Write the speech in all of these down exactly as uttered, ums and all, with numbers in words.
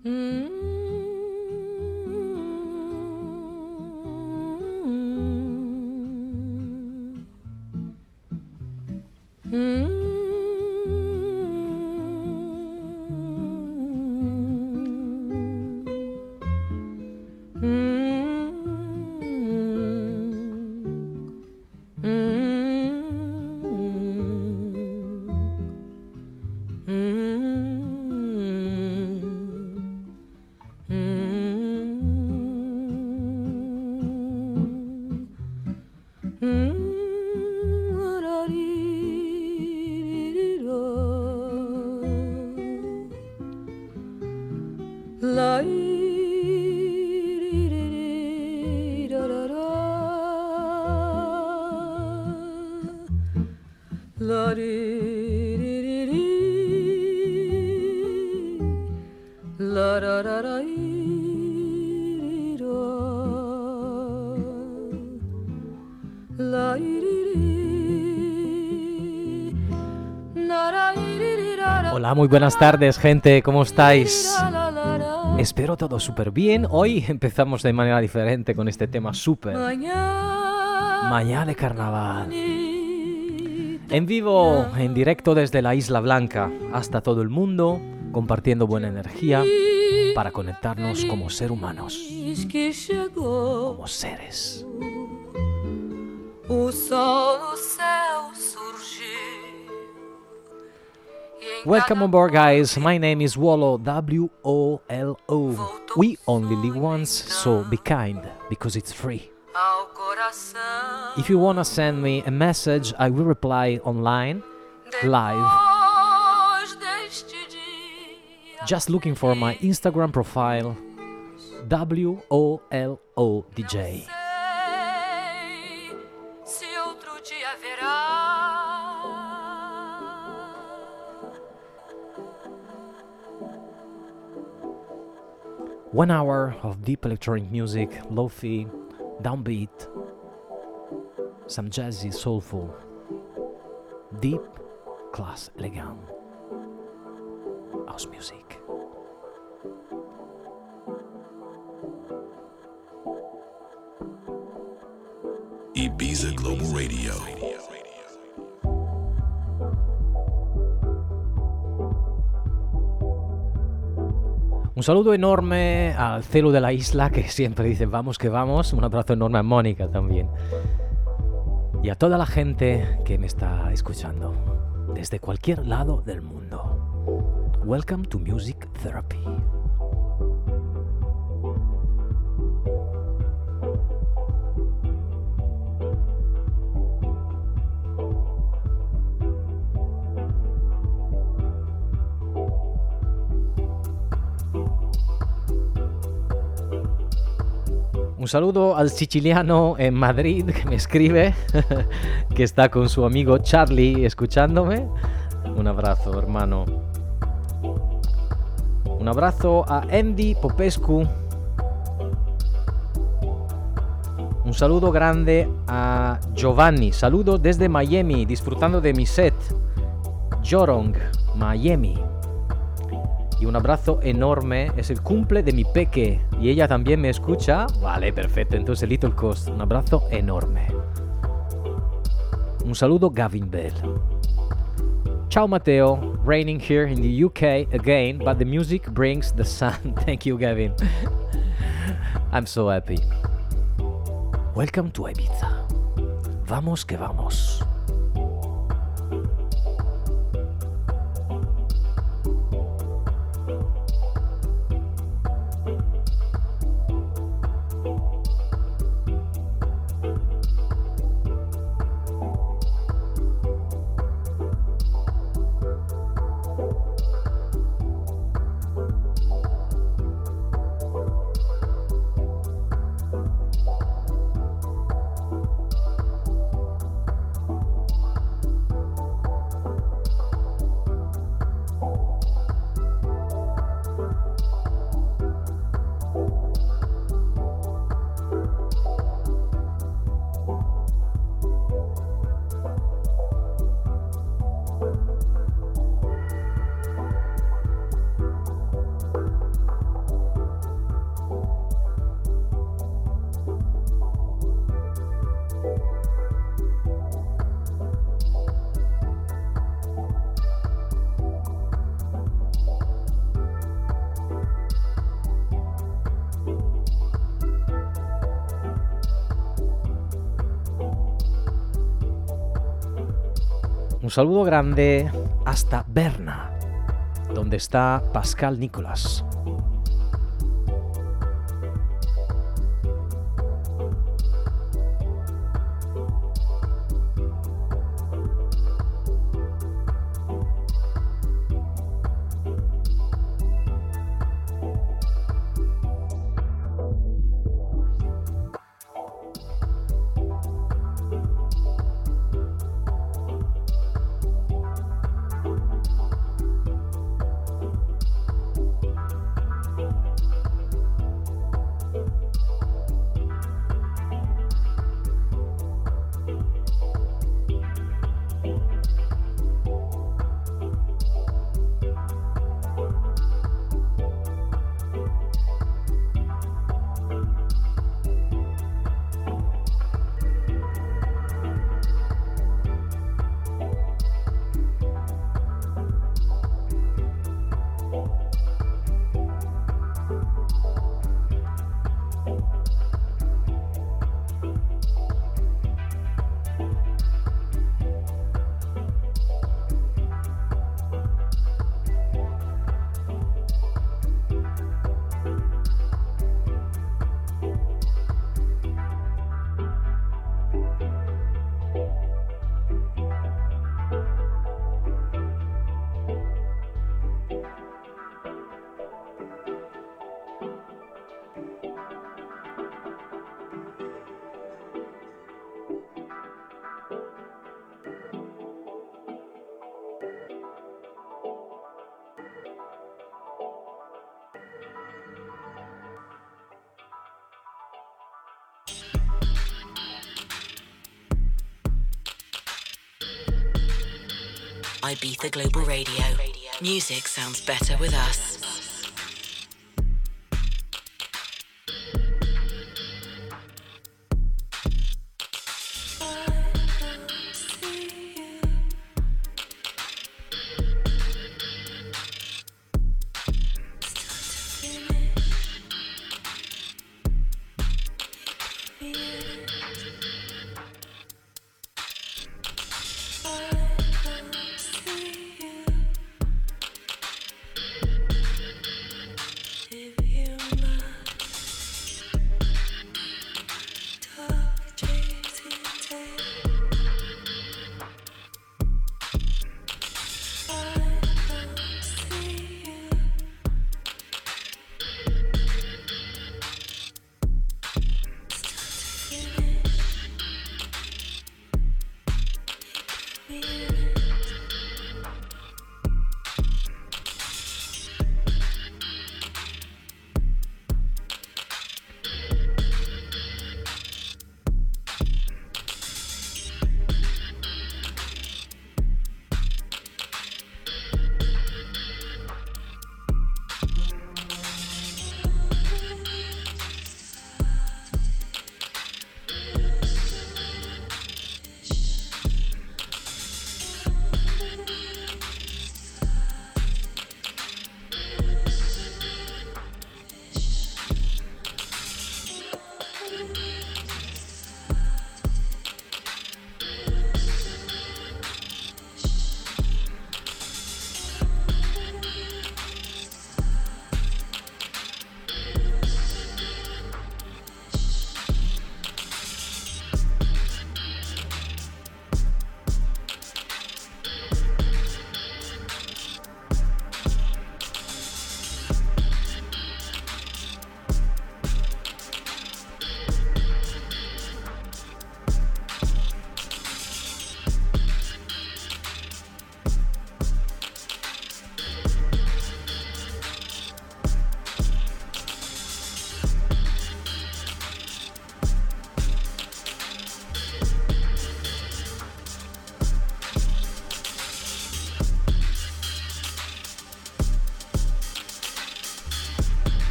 Hola, muy buenas tardes, gente, ¿cómo estáis? Espero todo súper bien. Hoy empezamos de manera diferente con este tema súper Mañana de Carnaval. En vivo, en directo desde la Isla Blanca hasta todo el mundo, compartiendo buena energía para conectarnos como seres humanos, como seres. Welcome on board, guys. My name is Wolo, W O L O. We only live once, so be kind, because it's free. If you wanna send me a message, I will reply online, live. Just looking for my Instagram profile, W O L O D J. One hour of deep electronic music, lo-fi, downbeat, some jazzy, soulful, deep, class, elegant house music. Ibiza Global Radio. Un saludo enorme al Celo de la isla, que siempre dice vamos que vamos. Un abrazo enorme a Mónica también. Y a toda la gente que me está escuchando desde cualquier lado del mundo. Welcome to Music Therapy. Un saludo al siciliano en Madrid que me escribe, que está con su amigo Charlie escuchándome. Un abrazo, hermano. Un abrazo a Andy Popescu. Un saludo grande a Giovanni. Saludo desde Miami, disfrutando de mi set. Jorong, Miami. Y un abrazo enorme, es el cumple de mi peque y ella también me escucha. Vale, perfecto, entonces Little Coast, un abrazo enorme. Un saludo Gavin Bell. Ciao Matteo, raining here in the U K again, but the music brings the sun. Thank you, Gavin. I'm so happy. Welcome to Ibiza. Vamos que vamos. saludo grande hasta Berna, donde está Pascal Nicolas. Ibiza Global Radio. Music sounds better with us.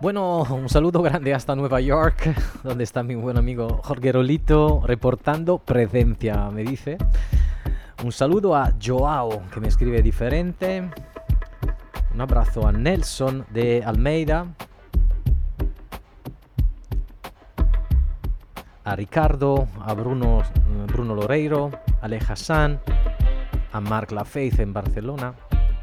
Bueno, un saludo grande hasta Nueva York, donde está mi buen amigo Jorge Rolito, reportando presencia, me dice. Un saludo a Joao, que me escribe diferente. Un abrazo a Nelson de Almeida. A Ricardo, a Bruno, Bruno Loreiro, a Ale Hassan, a Marc Lafeiz en Barcelona.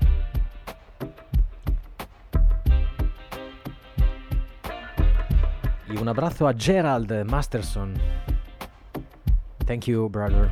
Y un abrazo a Gerald Masterson. Thank you, brother.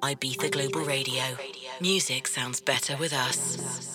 Ibiza Global Radio. Music sounds better with us.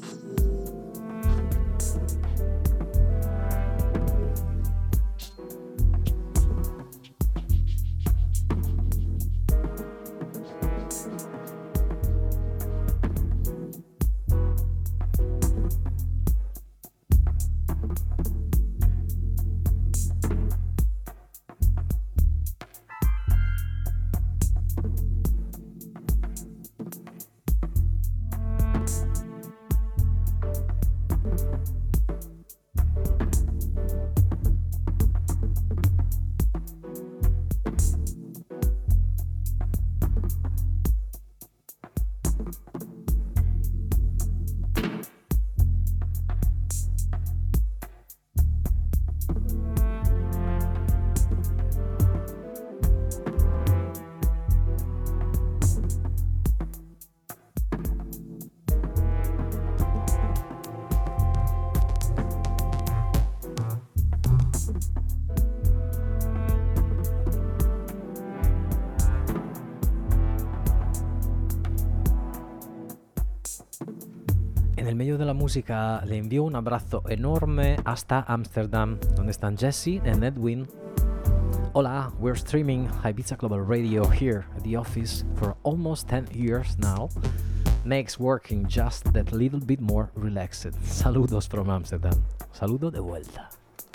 En el medio de la música le envío un abrazo enorme hasta Ámsterdam, donde están Jesse and Edwin. Hola, we're streaming Ibiza Global Radio here at the office for almost ten years now. Makes working just that little bit more relaxed. Saludos from Amsterdam. Saludo de vuelta.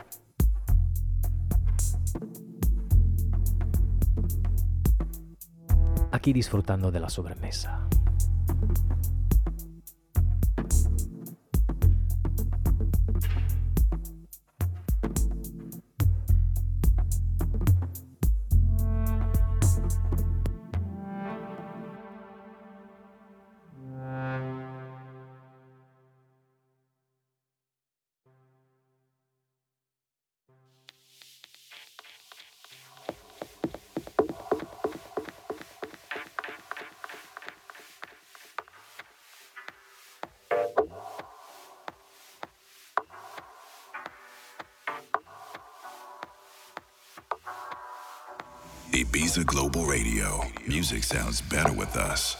Aquí disfrutando de la sobremesa. Ibiza Global Radio. Music sounds better with us.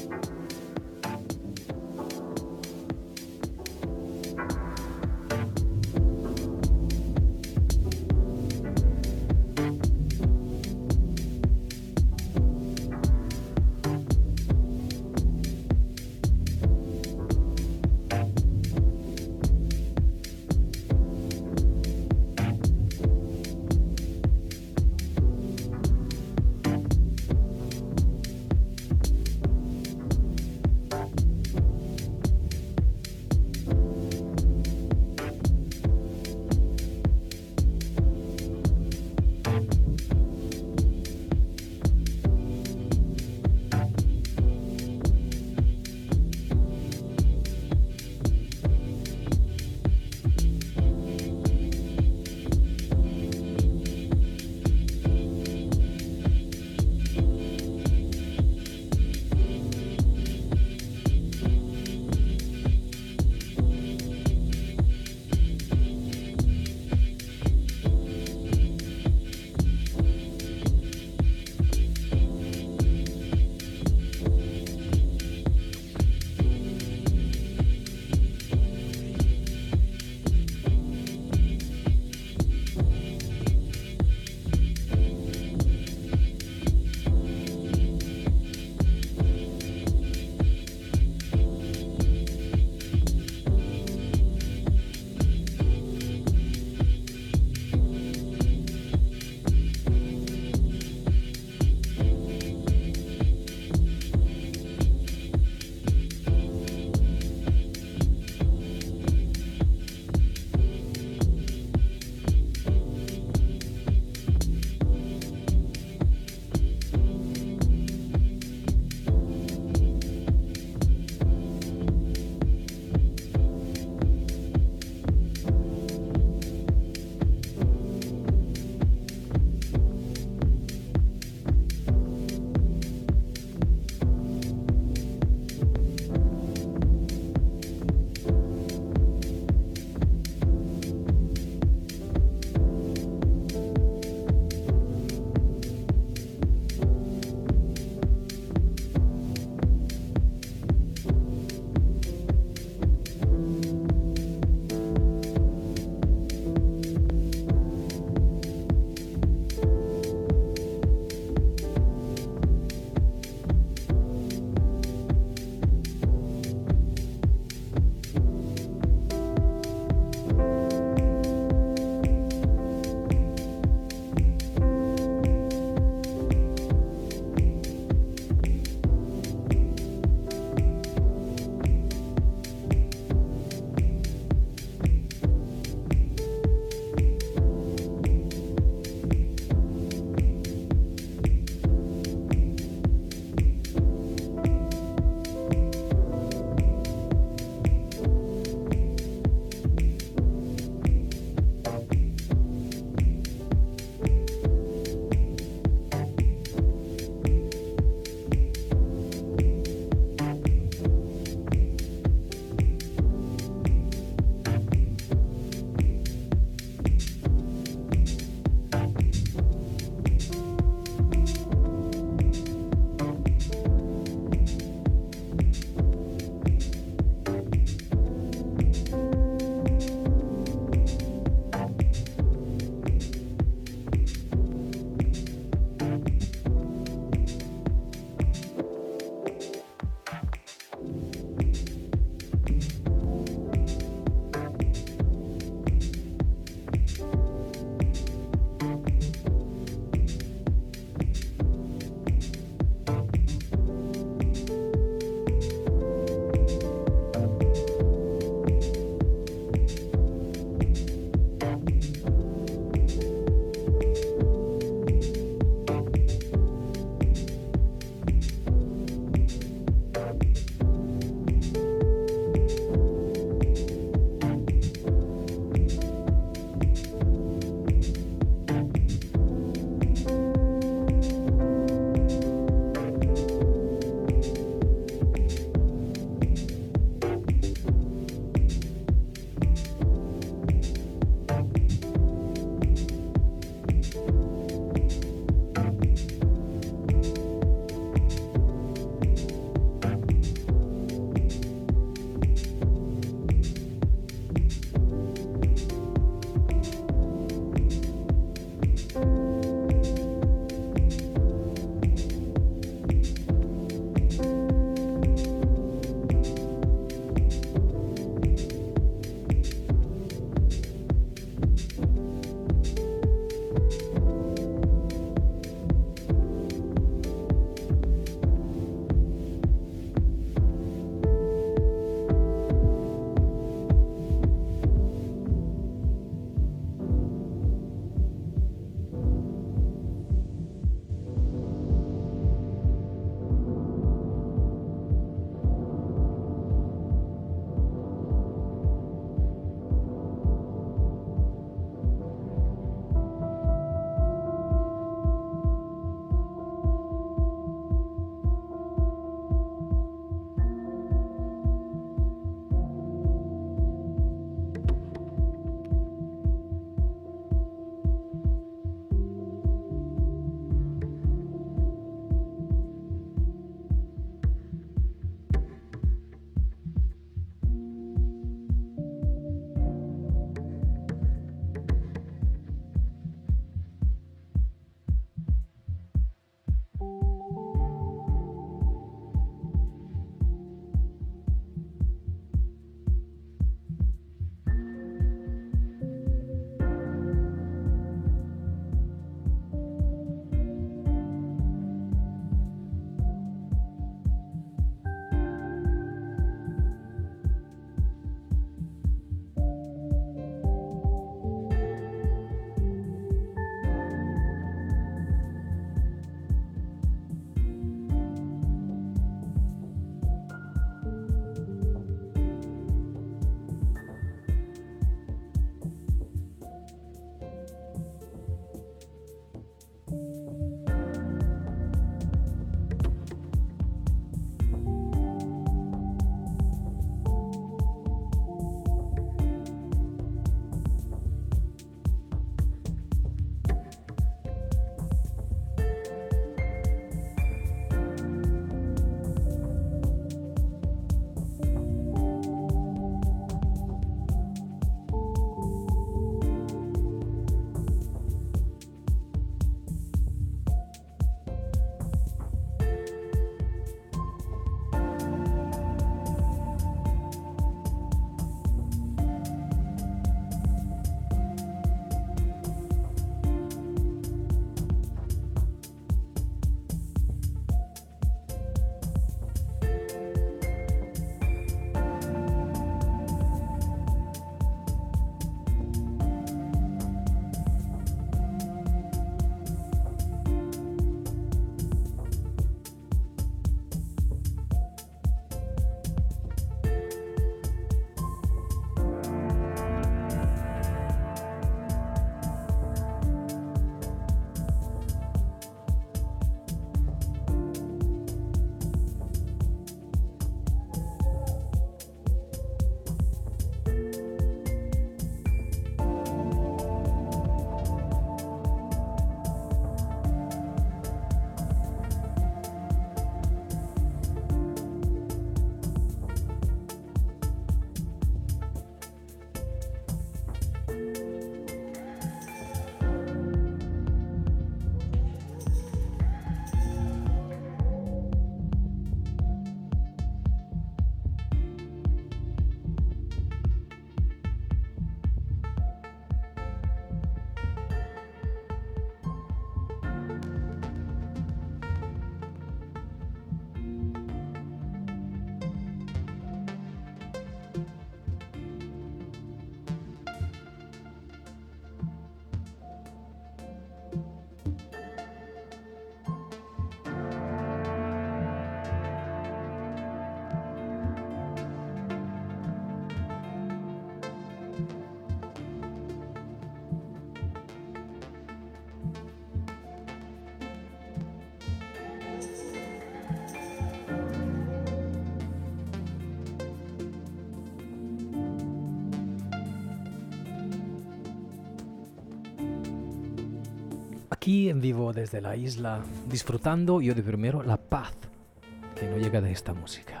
aquí en vivo desde la isla, disfrutando yo de primero la paz que no llega de esta música.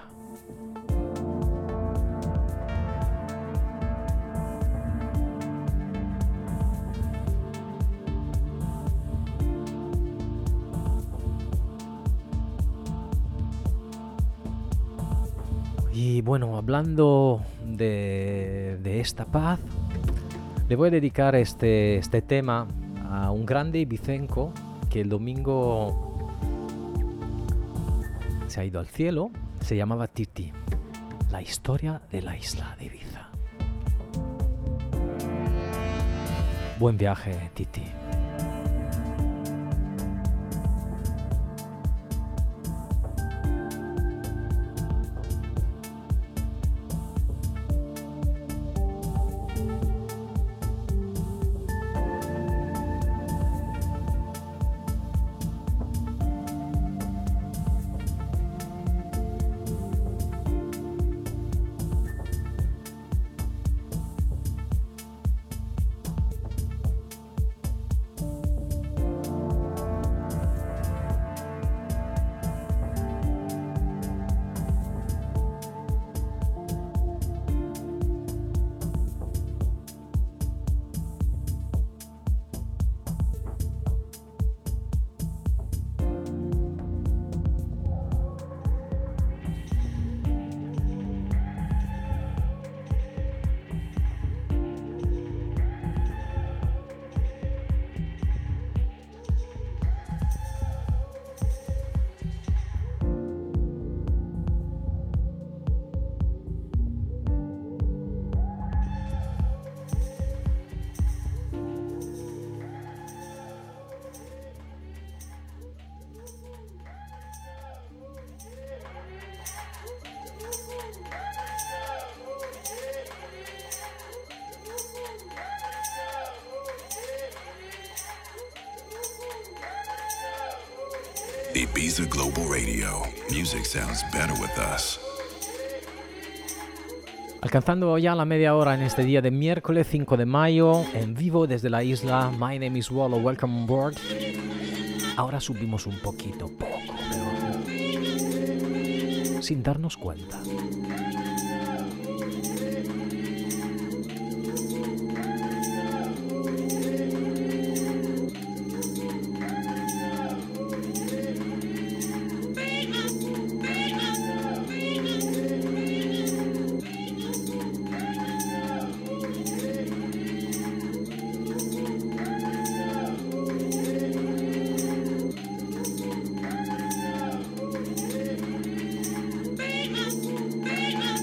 Y bueno, hablando de, de esta paz, le voy a dedicar este, este tema a un grande ibicenco que el domingo se ha ido al cielo. Se llamaba Titi, la historia de la isla de Ibiza. Buen viaje, Titi. Ibiza Global Radio. Music sounds better with us. Alcanzando ya la media hora en este día de miércoles cinco de mayo, en vivo desde la isla. My name is Wallo, welcome on board. Ahora subimos un poquito, poco, pero sin darnos cuenta. Baby,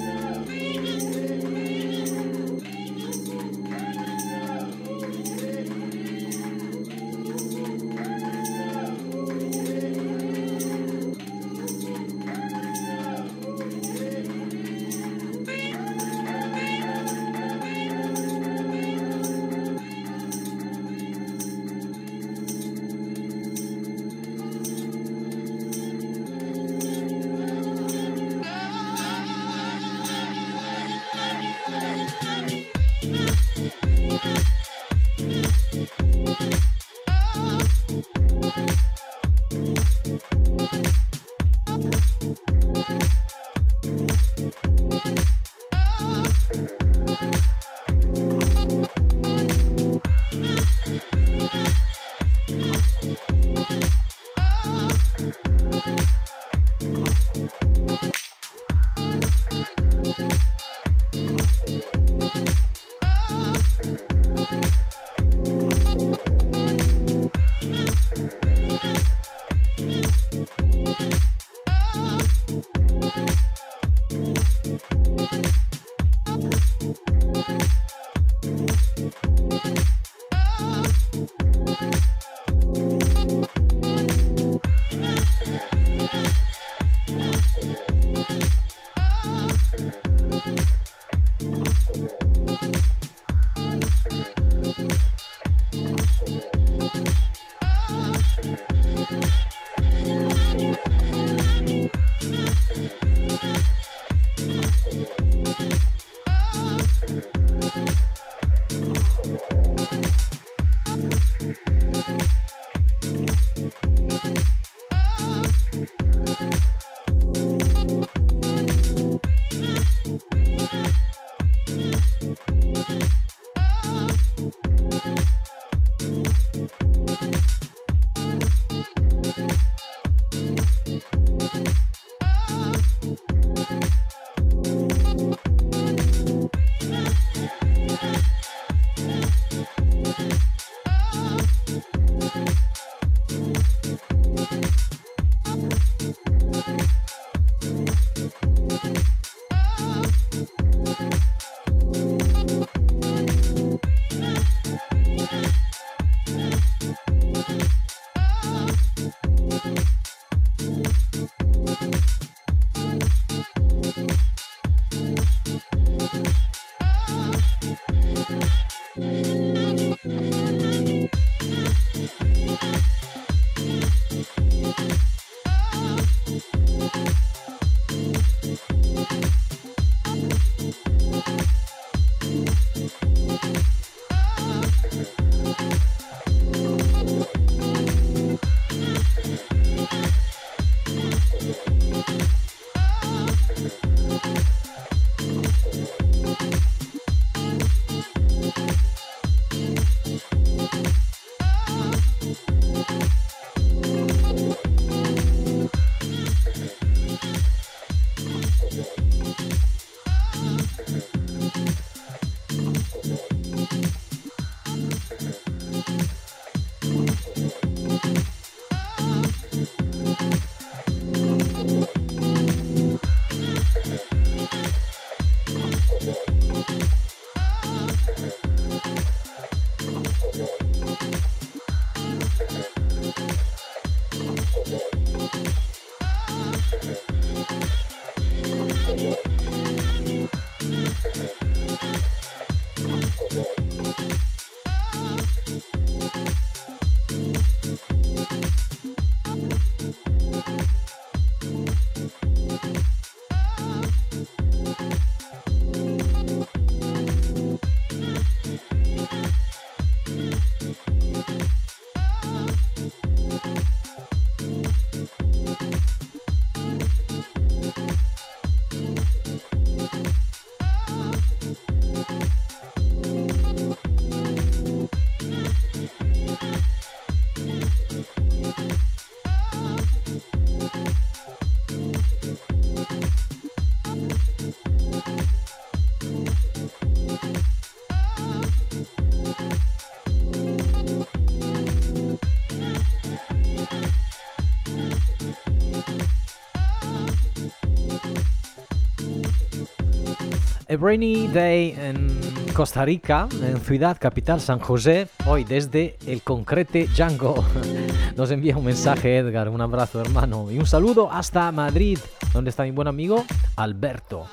A rainy day en Costa Rica, en Ciudad Capital San José, hoy desde el concrete Django. Nos envía un mensaje Edgar, un abrazo hermano y un saludo hasta Madrid, donde está mi buen amigo Alberto.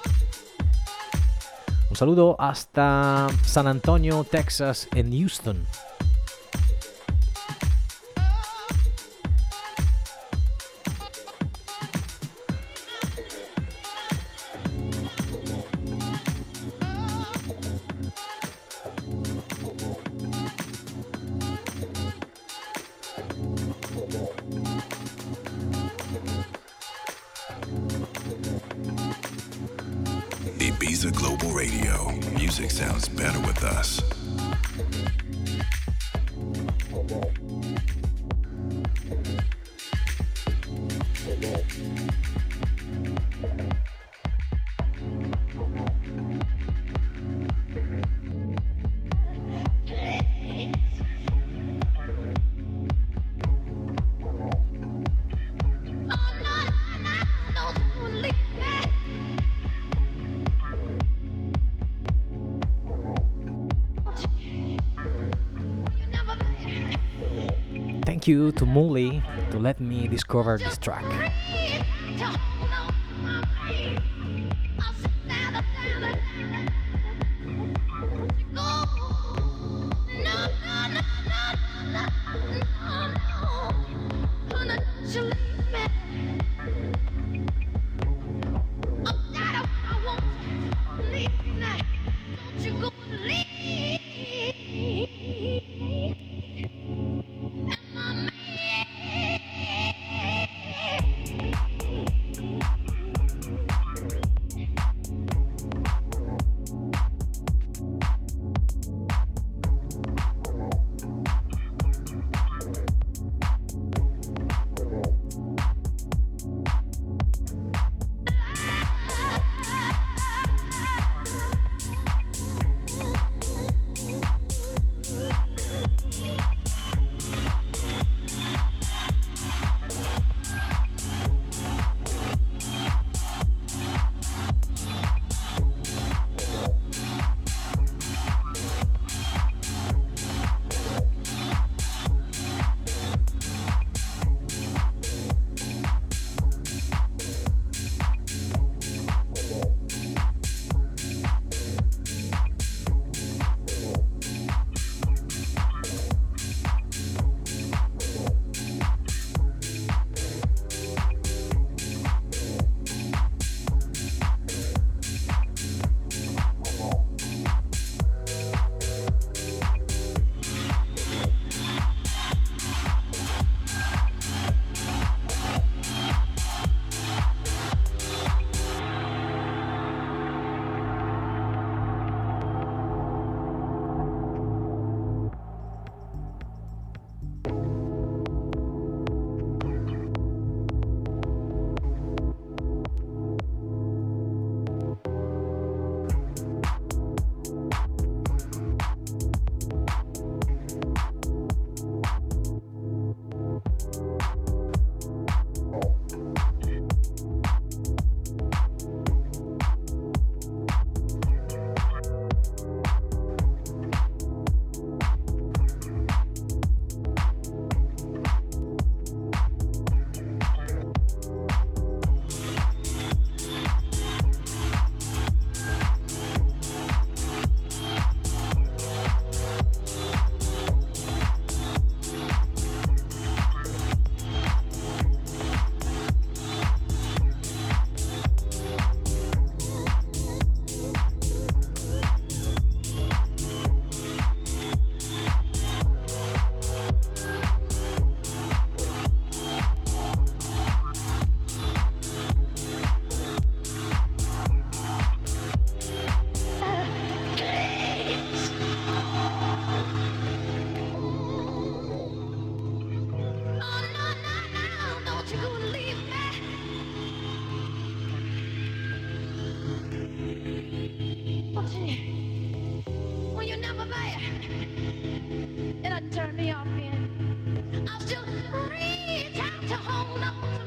Un saludo hasta San Antonio, Texas, en Houston. Ibiza Global Radio. Music sounds better with us. Thank you to Molly to let me discover this track.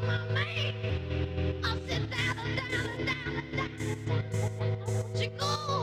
She goes.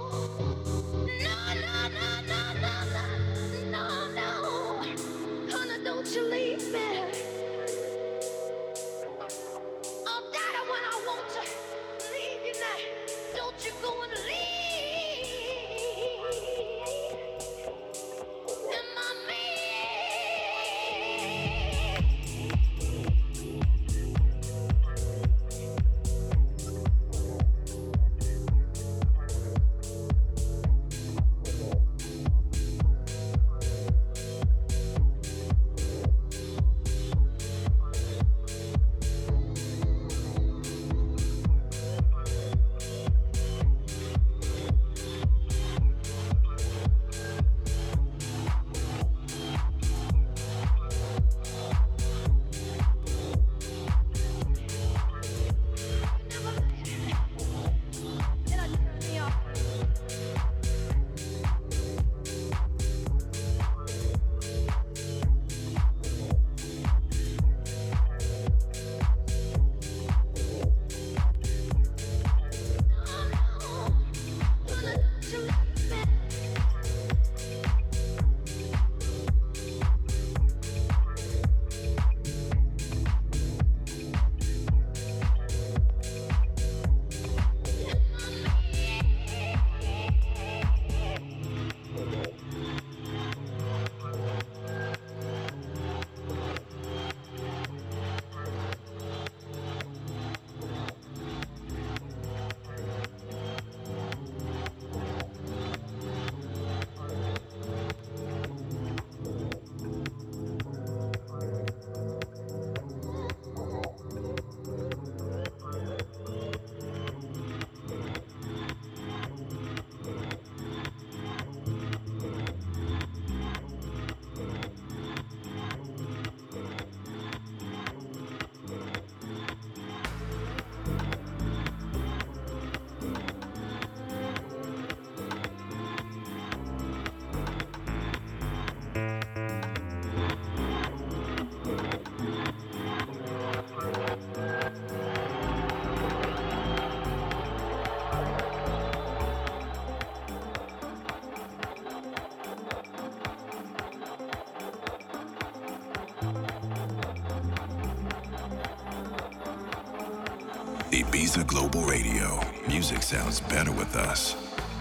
Ibiza Global Radio. Music sounds better with us.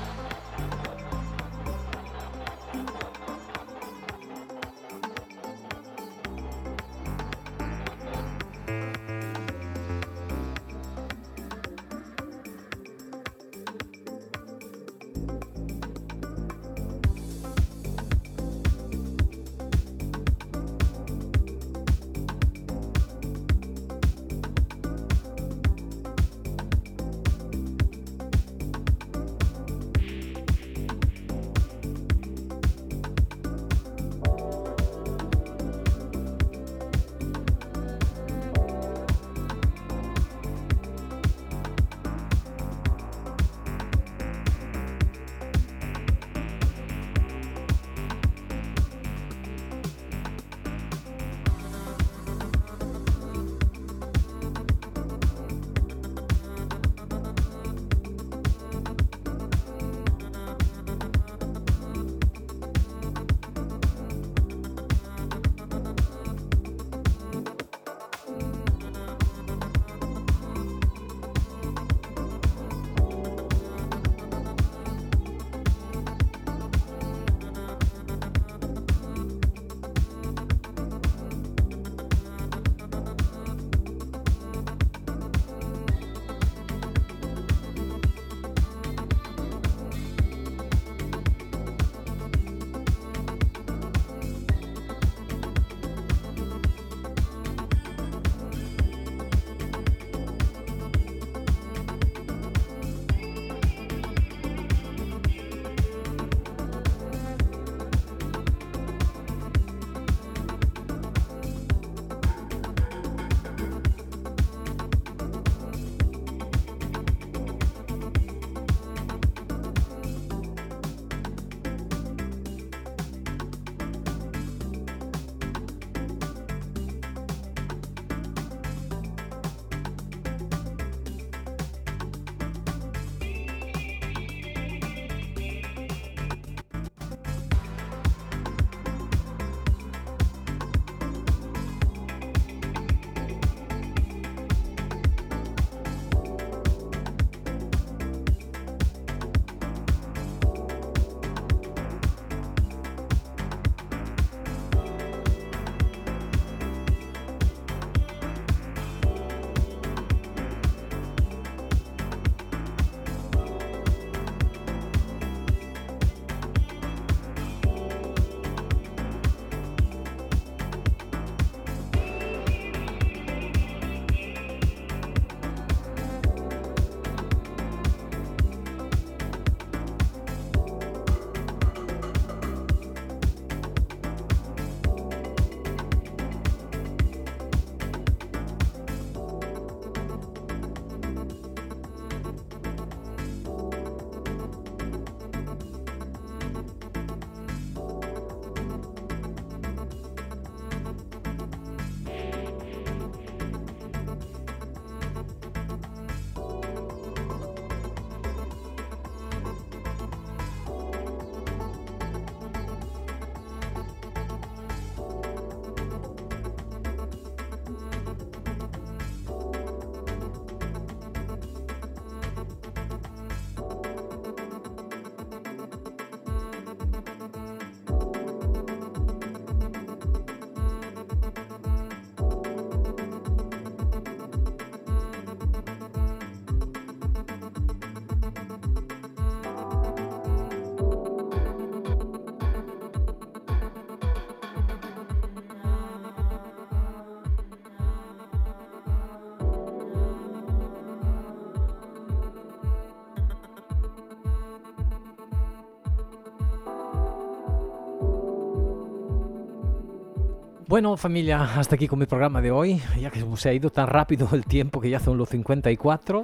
Bueno, familia, hasta aquí con mi programa de hoy, ya que se ha ido tan rápido el tiempo que ya son los cincuenta y cuatro.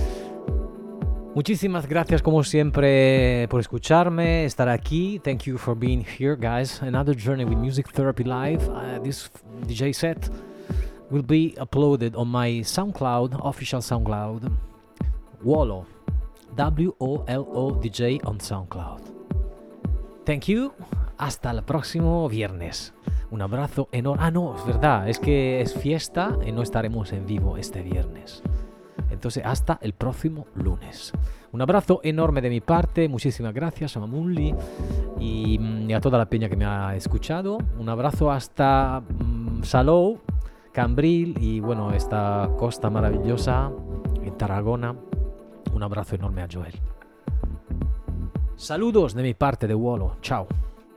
Muchísimas gracias como siempre por escucharme, estar aquí. Thank you for being here, guys. Another journey with Music Therapy Live. Uh, this D J set will be uploaded on my SoundCloud, official SoundCloud, Wolo, W O L O D J on SoundCloud. Thank you. Hasta el próximo viernes. Un abrazo enorme. Ah, no, es verdad, es que es fiesta y no estaremos en vivo este viernes. Entonces, Entonces, hasta el próximo lunes. Un abrazo enorme de mi parte. Muchísimas gracias a Mamulli y, y a toda la peña que me ha escuchado. Un abrazo hasta um, Salou, Cambril y bueno, esta costa maravillosa en Tarragona. Un abrazo enorme a Joel. Saludos de mi parte de Wolo. Chao.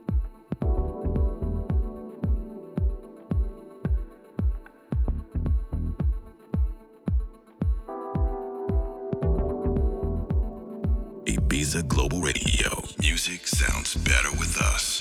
Ibiza Global Radio. Music sounds better with us.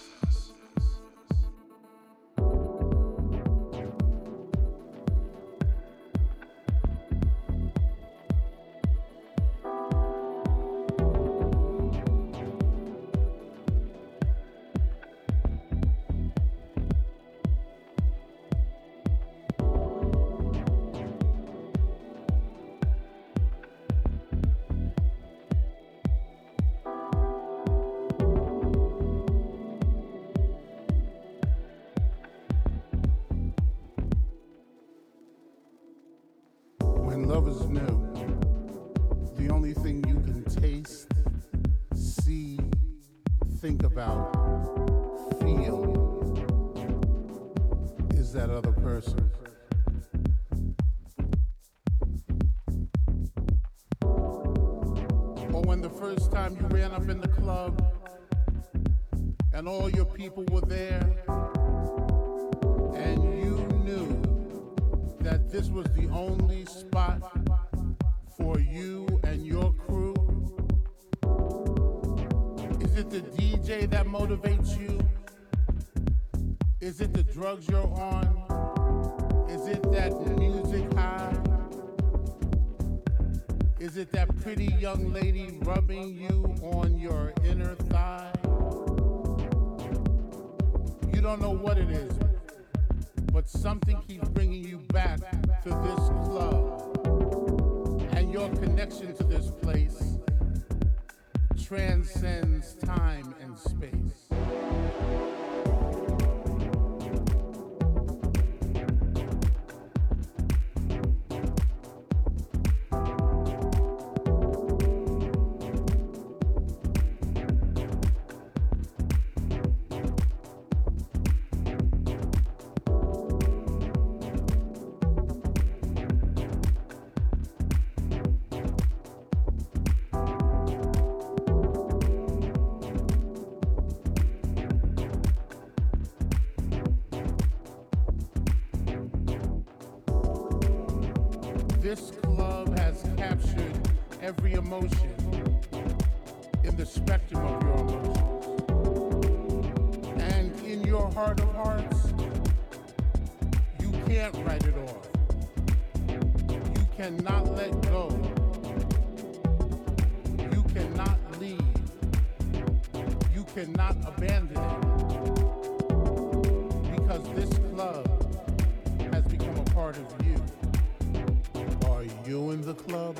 Love is new. The only thing you can taste, see, think about, feel is that other person. Or when the first time you ran up in the club and all your people were there and you knew that this was the only spot for you and your crew? Is it the D J that motivates you? Is it the drugs you're on? Is it that music high? Is it that pretty young lady rubbing you on your inner thigh? You don't know what it is, but something keeps bringing you back to this club. And your connection to this place transcends time and space. This club has captured every emotion in the spectrum of your emotions. And in your heart of hearts, you can't write it off. You cannot let go. You cannot leave. You cannot abandon it. Because this club has become a part of you. Are you in the club?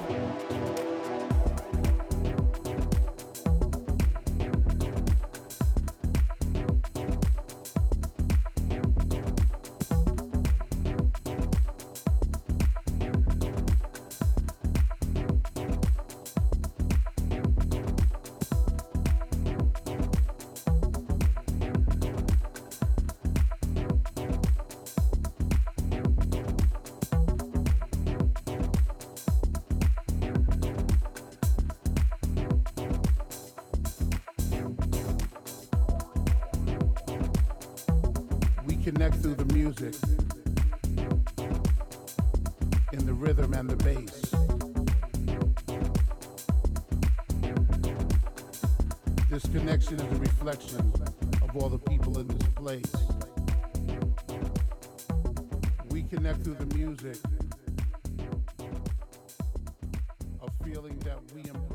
Connect through the music, in the rhythm and the bass. This connection is a reflection of all the people in this place. We connect through the music, a feeling that we embrace.